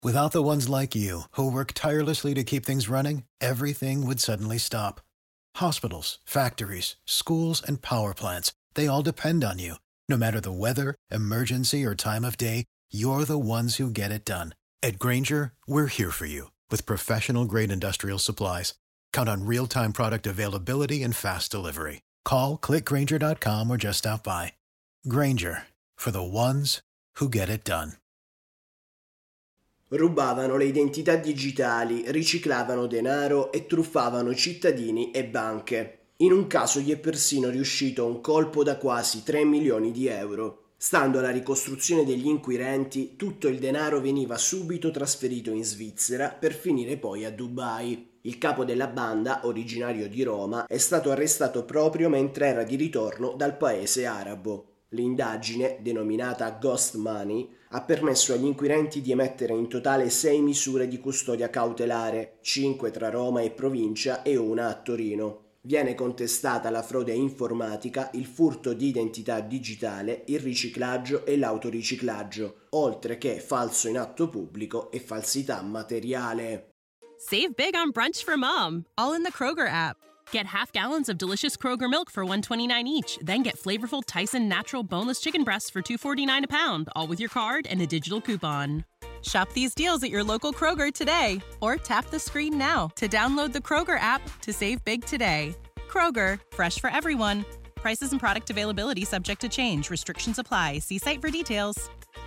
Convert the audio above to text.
Without the ones like you, who work tirelessly to keep things running, everything would suddenly stop. Hospitals, factories, schools, and power plants, they all depend on you. No matter the weather, emergency, or time of day, you're the ones who get it done. At Grainger, we're here for you with professional-grade industrial supplies. Count on real-time product availability and fast delivery. Call, clickgrainger.com or just stop by. Grainger, for the ones who get it done. Rubavano le identità digitali, riciclavano denaro e truffavano cittadini e banche. In un caso gli è persino riuscito un colpo da quasi 3 milioni di euro. Stando alla ricostruzione degli inquirenti, tutto il denaro veniva subito trasferito in Svizzera per finire poi a Dubai. Il capo della banda, originario di Roma, è stato arrestato proprio mentre era di ritorno dal paese arabo. L'indagine, denominata Ghost Money, ha permesso agli inquirenti di emettere in totale 6 misure di custodia cautelare, 5 tra Roma e provincia e una a Torino. Viene contestata la frode informatica, il furto di identità digitale, il riciclaggio e l'autoriciclaggio, oltre che falso in atto pubblico e falsità materiale. Save big on brunch for mom, all in the Kroger app. Get half gallons of delicious Kroger milk for $1.29 each. Then get flavorful Tyson natural boneless chicken breasts for $2.49 a pound, all with your card and a digital coupon. Shop these deals at your local Kroger today, or tap the screen now to download the Kroger app to save big today. Kroger, fresh for everyone. Prices and product availability subject to change. Restrictions apply. See site for details.